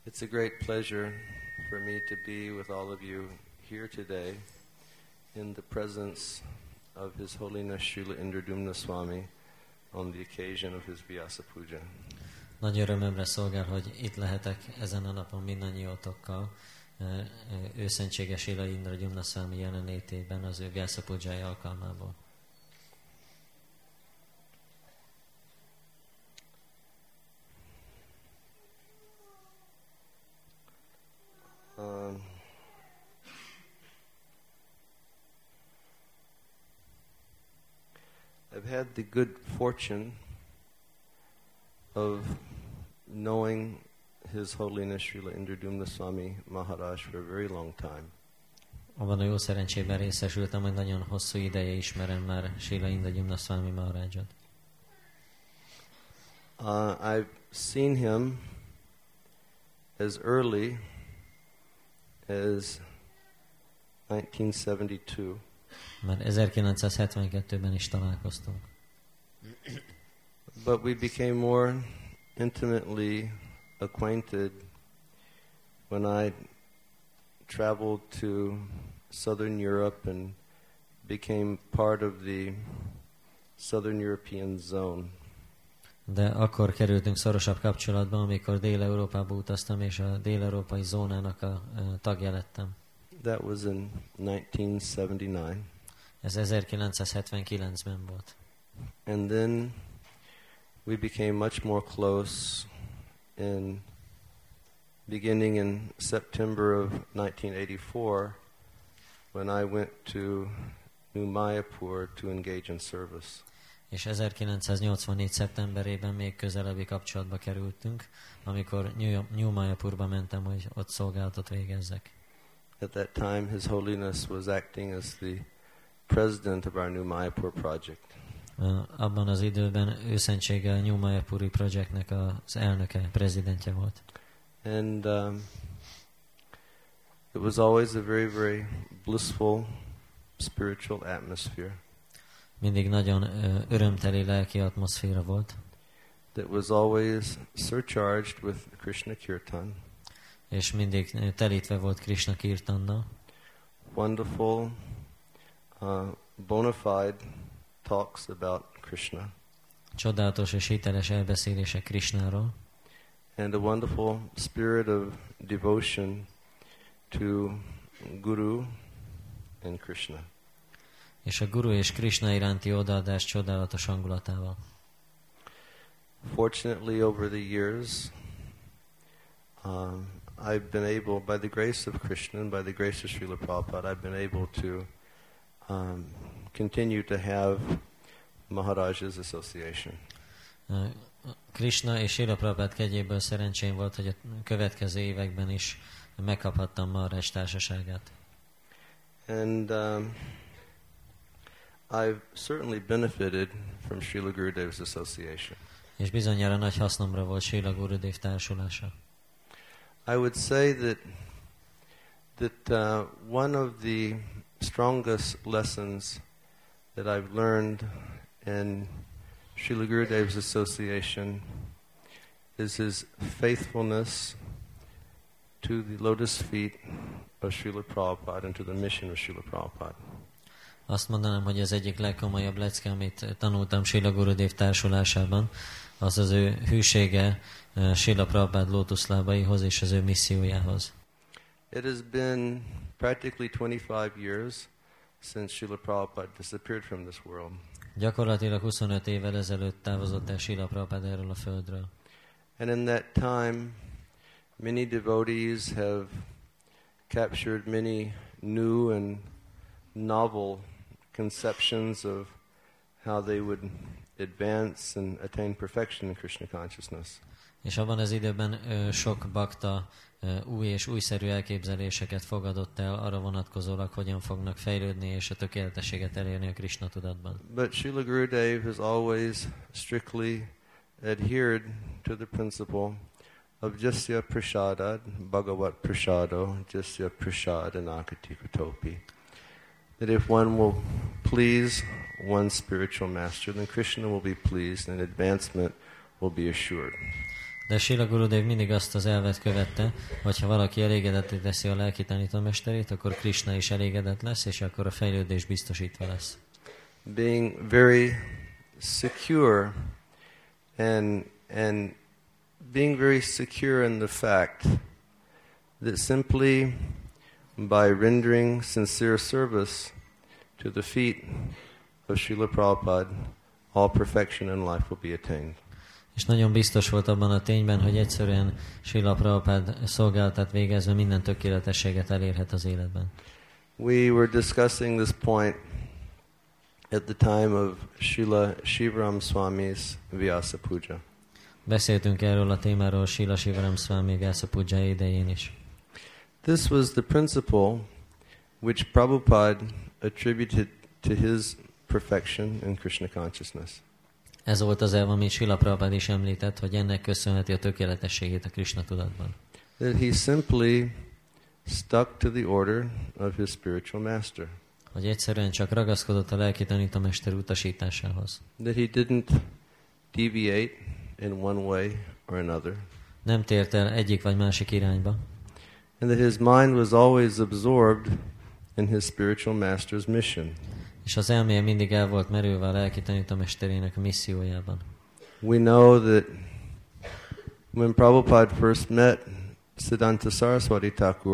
It's a great pleasure for me to be with all of you here today in the presence of His Holiness Srila Indradumna Swami on the occasion of his Vyasa Puja. Nagy örömömre szolgál, hogy itt lehetek ezen a napon mindannyiótokkal, őszentséges Srila Indradumna Swami jelenlétében az ő Vyasa Pujája alkalmából. I've had the good fortune of knowing His Holiness Srila Indradumna Swami Maharaj for a very long time. Abban a jó szerencsében részesültem, hogy nagyon hosszú ideje ismerem már Srila Indradumna Swami Maharajot. I've seen him as early as 1972. Már 1972-ben is találkoztunk. But we became more intimately acquainted when I traveled to Southern Europe and became part of the Southern European zone. De akkor kerültünk szorosabb kapcsolatba, amikor Dél-Európába utaztam, és a dél-európai zónának a tagja lettem. That was in 1979. Ez 1979-ben volt. And then we became much more close beginning in September of 1984 when I went to New Mayapur to engage in service. És 1984. szeptemberében még közelebbi kapcsolatba kerültünk, amikor New Mayapurba mentem, hogy ott szolgálatot végezzek. At that time, His Holiness was acting as the president of our New Mayapur project. Abban az időben őszentsége a New Mayapuri projektnek az elnöke, prezidentje volt. And it was always a very, very blissful spiritual atmosphere. Mindig nagyon örömteli lelki atmoszféra volt. That was always surcharged with Krishna Kirtan. És mindig telítve volt Krishna Kirtannal. Wonderful, bona fide talks about Krishna. Csodálatos és hiteles elbeszélések Krishnáról. And a wonderful spirit of devotion to Guru and Krishna. És a Guru és Krishna iránti odaadás csodálatos hangulatával. Fortunately, over the years, I've been able, by the grace of Krishna and by the grace of Srila Prabhupada, I've been able to continue to have Maharaj's association. Krishna és Srila Prabhupada kegyéből szerencsém volt, hogy a következő években is megkaphattam Maharaj társaságát. And I've certainly benefited from Srila Gurudev's association. És bizonyára nagy hasznomra volt Srila Gurudev társulása. I would say that one of the strongest lessons that I've learned in Srila Gurudev's association is his faithfulness to the lotus feet of Srila Prabhupada and to the mission of Srila Prabhupada. Azt mondanám, hogy ez egyik legkomolyabb lecke, amit tanultam Srila Gurudev társulásában, az az ő hűsége Srila Prabhupada lótuszlábaihoz és az ő missziójához. It has been practically 25 years since Srila Prabhupada disappeared from this world. Gyakorlatilag 25 évvel ezelőtt távozott el Srila Prabhupada erről a földről. And in that time, many devotees have captured many new and novel conceptions of how they would advance and attain perfection in Krishna consciousness. És abban az időben sok bakta új és újszerű elképzeléseket fogadott el arra vonatkozólag, hogyan fognak fejlődni és a tökéletességet elérni a Krishna tudatban. But Srila Gurudev has always strictly adhered to the principle of Jasya Prasadad, Bhagavat Prasado, Jasya Prasad Anakati Kutopi. That if one will please one spiritual master, then Krishna will be pleased and advancement will be assured. De Srila Gurudev mindig azt az elvet követte, hogy ha valaki elégedetté teszi a lelki tanítómesterét, akkor Krishna is elégedett lesz, és akkor a fejlődés biztosítva lesz. Being very secure and being very secure in the fact that simply by rendering sincere service to the feet of Srila Prabhupada, all perfection in life will be attained. És nagyon biztos volt abban a tényben, hogy egyszerűen Srila Prabhupada szolgálatát végezve minden tökéletességet elérhet az életben. We were discussing this point at the time of Srila Shivaram Swami's Vyasa Puja. Beszéltünk erről a témáról Srila Shivaram Swami Vyasa Puja idején is. This was the principle which Prabhupada attributed to his perfection in Krishna consciousness. Ez volt az elv, amit Srila Prabhupada is említett, hogy ennek köszönheti a tökéletességét a Krishna tudatban. That he simply stuck to the order of his spiritual master. Hogy egyszerűen csak ragaszkodott a lelki tanítómester utasításához. That he didn't deviate in one way or another. Nem tért el egyik vagy másik irányba. And that his mind was always absorbed in his spiritual master's mission. És az elméje mindig el volt merülve a lelki tanítómesterének a missziójában. We know that when Prabhupada first met Siddhanta Saraswati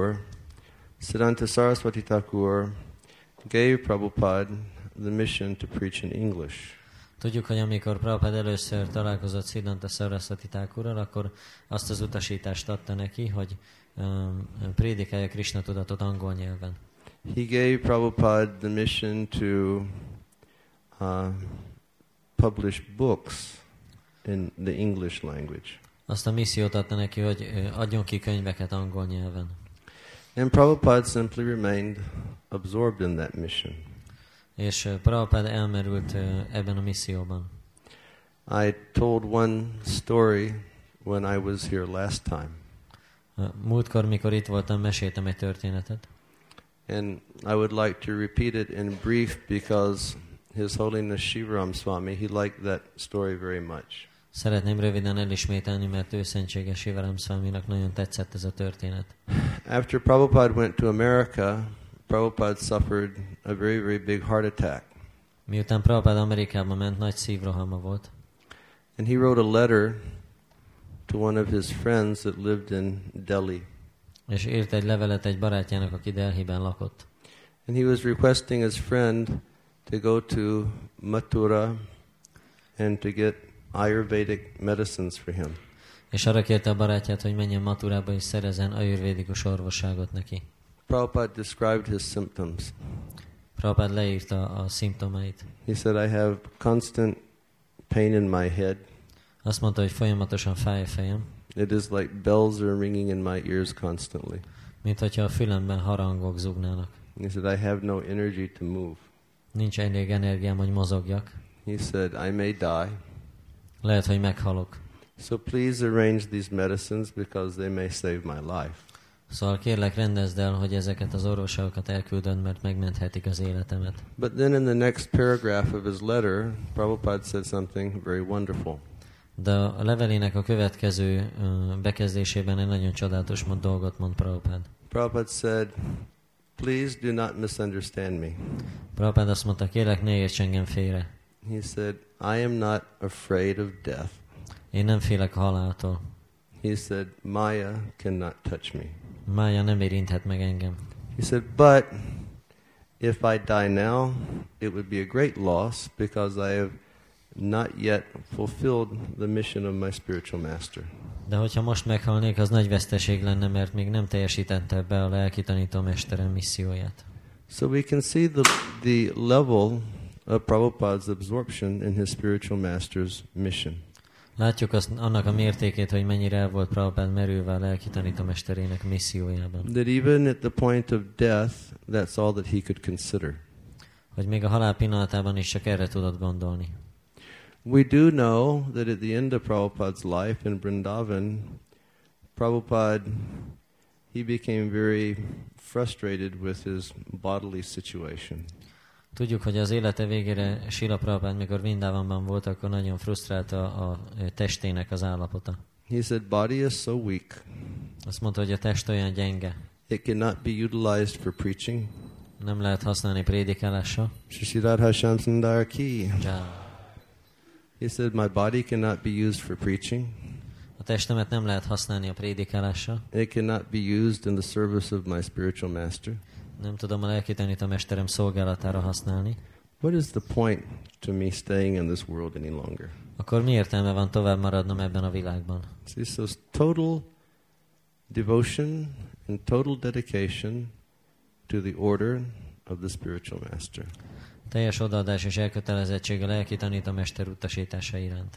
Thakur gave Prabhupada the mission to preach in English. Tudjuk, hogy amikor Prabhupada először találkozott Siddhanta Saraswati Thakurral, akkor azt az utasítást adta neki, hogy prédikálja Krishna tudatot angol nyelven. He gave Prabhupada the mission to publish books in the English language. Azt a missziót adta neki, hogy adjon ki könyveket angol nyelven. And Prabhupada simply remained absorbed in that mission. És Prabhupada elmerült ebben a misszióban. I told one story when I was here last time. Múltkor, mikor itt voltam, meséltem egy történetet. And I would like to repeat it in brief because His Holiness Shivaram Swami, he liked that story very much. Szeretném röviden elismételni, mert ő szentséges Shivaram Swaminak nagyon tetszett ez a történet. After Prabhupada went to America, Prabhupada suffered a very, very big heart attack. Miután Prabhupada Amerikába ment, nagy szívrohama volt. And he wrote a letter to one of his friends that lived in Delhi. És írt egy levelet egy barátjának, aki Delhiben lakott. And he was requesting his friend to go to Mathura and to get Ayurvedic medicines for him. És arra kérte a barátját, hogy menjen Mathurába és szerezzen ajurvédikus orvosságot neki. Prabhupada described his symptoms. Prabhupada leírta a szimptomait. He said, I have constant pain in my head. Azt mondta, hogy folyamatosan fáj a fejem. It is like bells are ringing in my ears constantly. Mint hogyha a fülemben harangok zúgnának. He said, I have no energy to move. Nincs elég energiám, hogy mozogjak. He said, I may die. Lehet, hogy meghalok. So please arrange these medicines because they may save my life. Szóval kérlek, rendezd el, hogy ezeket az orvosokat elküldöd, mert megmenthetik az életemet. But then in the next paragraph of his letter, Prabhupada said something very wonderful. De a levelének a következő bekezdésében egy nagyon csodálatos dolgot mond Prabhupada. Prabhupada said, please do not misunderstand me. Prabhupada azt mondta, kérlek, ne érts engem félre. He said, I am not afraid of death. Én nem félek a haláltól. He said, Maya cannot touch me. Mája nem érinthet meg engem. He said, but if I die now, it would be a great loss because I have not yet fulfilled the mission of my spiritual master. De hogyha most meghalnék, az nagy veszteség lenne, mert még nem teljesítette be a lelki tanítómesterem misszióját. So we can see the level of Prabhupada's absorption in his spiritual master's mission. Látjuk annak a mértékét, hogy mennyire el volt Prabhupada merülve a lelki tanítómesterének missziójában. That even at the point of death, that's all that he could consider. Hogy még a halál pillanatában is csak erre tudott gondolni. We do know that at the end of Prabhupada's life in Vrindavan, Prabhupada, he became very frustrated with his bodily situation. Tudjuk, hogy az élete végére Srila Prabhupada, mikor Vrindavanban volt, akkor nagyon frusztrálta a testének az állapota. He said, body is so weak. Azt mondta, hogy a test olyan gyenge. It cannot be utilized for preaching. Nem lehet használni prédikálásra. Shishirada Shamsundar ki. Ja. He said, my body cannot be used for preaching. A testemet nem lehet használni a prédikálásra. It cannot be used in the service of my spiritual master. Nem tudom a lelki tanítómesterem szolgálatára használni. What is the point to me staying in this world any longer? Akkor mi értelme van tovább maradnom ebben a világban? See, so total devotion and total dedication to the order of the spiritual master. Teljes odaadás és elkötelezettség a lelki tanítómester utasítása iránt.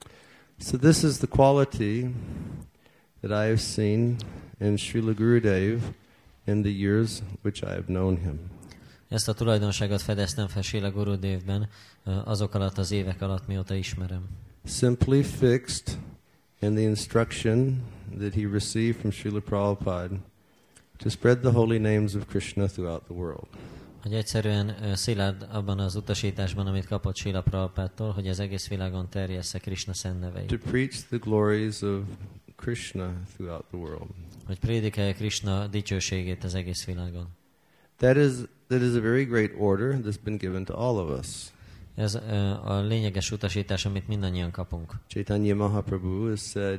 So this is the quality that I have seen in Srila Gurudev in the years which I have known him. Ezt a tulajdonságot fedeztem fel Srila Gurudevben azok alatt az évek alatt, mióta ismerem. Simply fixed in the instruction that he received from Srila Prabhupada to spread the holy names of Krishna throughout the world. Hogy egyszerűen szilárd abban az utasításban, amit kapott Srila Prabhupádtól, hogy az egész világon terjessze Krishna szent neveit. To preach the glories of Krishna throughout the world. Hogy prédikálja Krishna dicsőségét az egész világon. That is a very great order that's been given to all of us. Ez a lényeges utasítás, amit mindannyian kapunk. Chaitanya Mahaprabhu has said,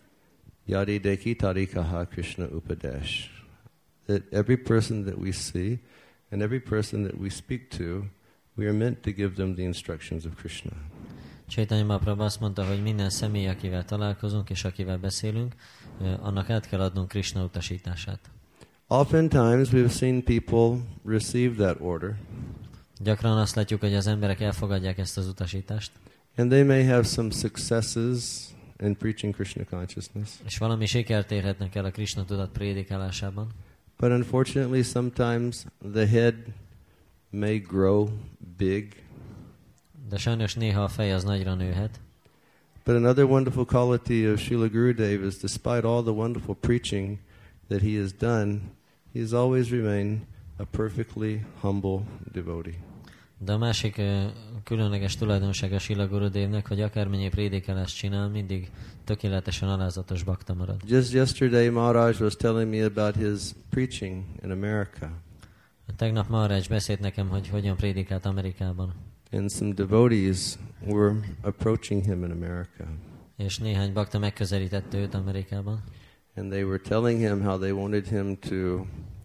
Yadi Deki Tarikaha Krishna Upadesh. That every person that we see and every person that we speak to, we are meant to give them the instructions of Krishna. Chaitanya Mahaprabhu azt mondta, hogy minden személy, akivel találkozunk és akivel beszélünk, annak át kell adnunk Krishna utasítását. Oftentimes we have seen people receive that order. Gyakran azt látjuk, hogy az emberek elfogadják ezt az utasítást. And they may have some successes in preaching Krishna consciousness. És valami sikert érhetnek el a Krishna tudat prédikálásában. But unfortunately sometimes the head may grow big. De sajnos néha a fej az nagyra nőhet. But another wonderful quality of Srila Gurudev is despite all the wonderful preaching that he has done, he has always remained a perfectly humble devotee. De a másik különleges tulajdonsága Srila Gurudevnek, hogy akármennyi prédikálást csinál, mindig tökéletesen alázatos bakta marad. Just yesterday Maharaj was telling me about his preaching in America. Tegnap Maharaj beszélt nekem, hogy hogyan prédikált Amerikában. And some devotees were approaching him in America. És néhány bakta megközelítette őt Amerikában. And they were telling him how they wanted him to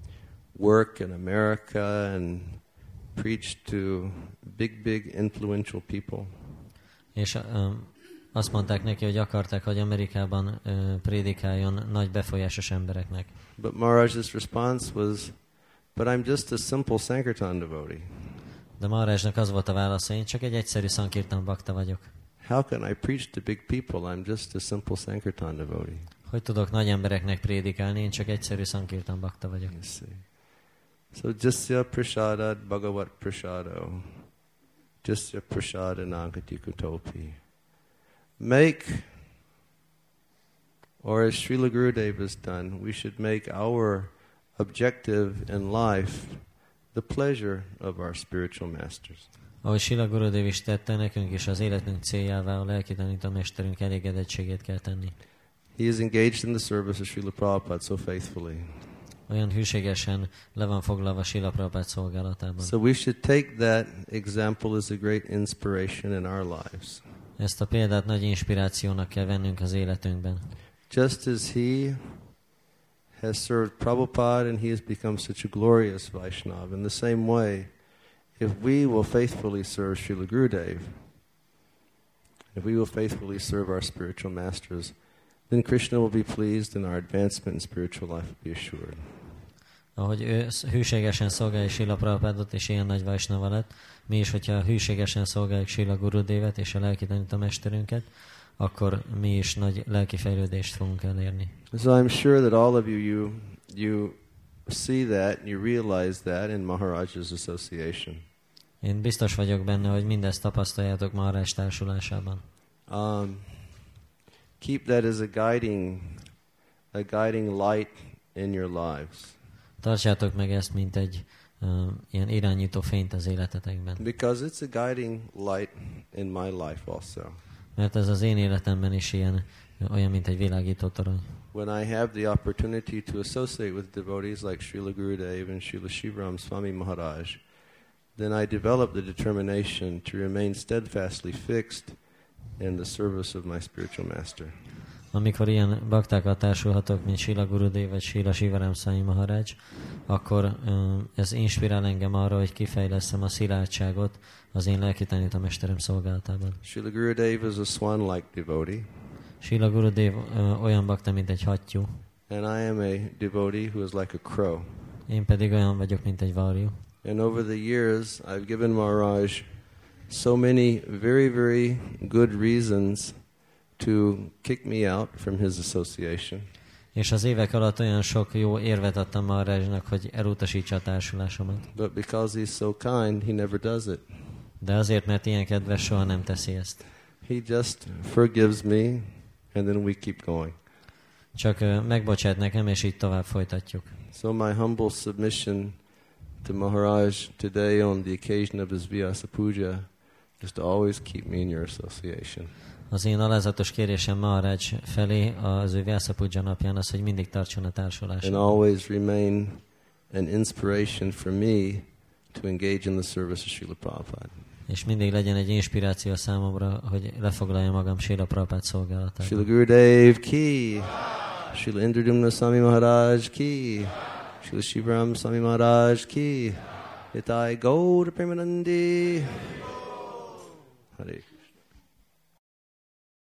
work in America and preach to big influential people. És azt mondták neki, hogy akarták, hogy Amerikában prédikáljon nagy befolyásos embereknek. But Maharaj's response was, but I'm just a simple Sankirtan devotee. De Maharajnak az volt a válasza, én csak egy egyszerű Sankirtan bakta vagyok. How can I preach to big people? I'm just a simple Sankirtan devotee. Hogy tudok nagy embereknek prédikálni, én csak egyszerű Sankirtan bakta vagyok. You see. So Jasya Prasadat Bhagavat Prasado. Jasya Prasada Nagati Kutopi. Make, or as Srila Gurudev has done, we should make our objective in life the pleasure of our spiritual masters. Ahogy Srila Gurudev is tette, nekünk is az életünk céljává a lelki tanítómesterünk elégedettségét kell tenni. He is engaged in the service of Srila Prabhupada so faithfully. Olyan hűségesen le van foglalva Srila Prabhupád szolgálatában. So we should take that example as a great inspiration in our lives. Ezt a példát nagy inspirációnak kell vennünk az életünkben. Just as he has served Prabhupada and he has become such a glorious Vaishnava, in the same way, if we will faithfully serve Srila Gurudev, if we will faithfully serve our spiritual masters, then Krishna will be pleased and our advancement in spiritual life will be assured. Ahogy ő hűségesen szolgálja Srila Prabhupádot, és ilyen nagy Vaisnava lett, mi is, hogyha hűségesen szolgáljuk Srila Gurudevet és a lelki tanítómesterünket, akkor mi is nagy lelki fejlődést fogunk elérni. So I'm sure that all of you see that, you realize that in Maharaj's association. Én biztos vagyok benne, hogy mindezt tapasztaljátok Maharaj társulásában. Keep that as a guiding light in your lives. Tartsátok meg ezt, mint egy ilyen irányító fényt az életetekben. Because it's a guiding light in my life also. Mert ez az én életemben is olyan, mint egy világító torony. When I have the opportunity to associate with devotees like Srila Gurudev and Srila Shivaram Swami Maharaj, then I develop the determination to remain steadfastly fixed in the service of my spiritual master. Amikor ilyen baktákkal társulhatok, mint Srila Gurudev vagy Srila Shivaram Swami Maharaj, akkor ez inspirál engem arra, hogy kifejlesztem a szilárdságot az én lelki tanítómesterem szolgálatában. Srila Gurudev is a swan-like devotee. Srila Gurudev olyan bakta, mint egy hattyú. And I am a devotee who is like a crow. Én pedig olyan vagyok, mint egy varjú. And over the years, I've given Maharaj so many very, very good reasons to kick me out from his association. És az évek alatt olyan sok jó érvet adtam Maharajnak, hogy elutasítsa a társulásomat. But because he's so kind, he never does it. De azért, mert ilyen kedves, soha nem teszi ezt. He just forgives me, and then we keep going. Csak megbocsát nekem, és így tovább folytatjuk. So my humble submission to Maharaj today on the occasion of his Vyasa Puja is to always keep me in your association. Az én alázatos kérésem Maharaj felé az ő Vyasa Puja napján az, hogy mindig tartson a társulásban. And always remain an inspiration for me to engage in the service of Srila Prabhupada. És mindig legyen egy inspiráció számomra, hogy lefoglaljam magam Srila Prabhupada szolgálatában. Srila Gurudev ki, Srila Indradumna Swami Maharaj ki, Srila Shivaram Swami Maharaj ki, Nitai Gaur Premanandi. Hare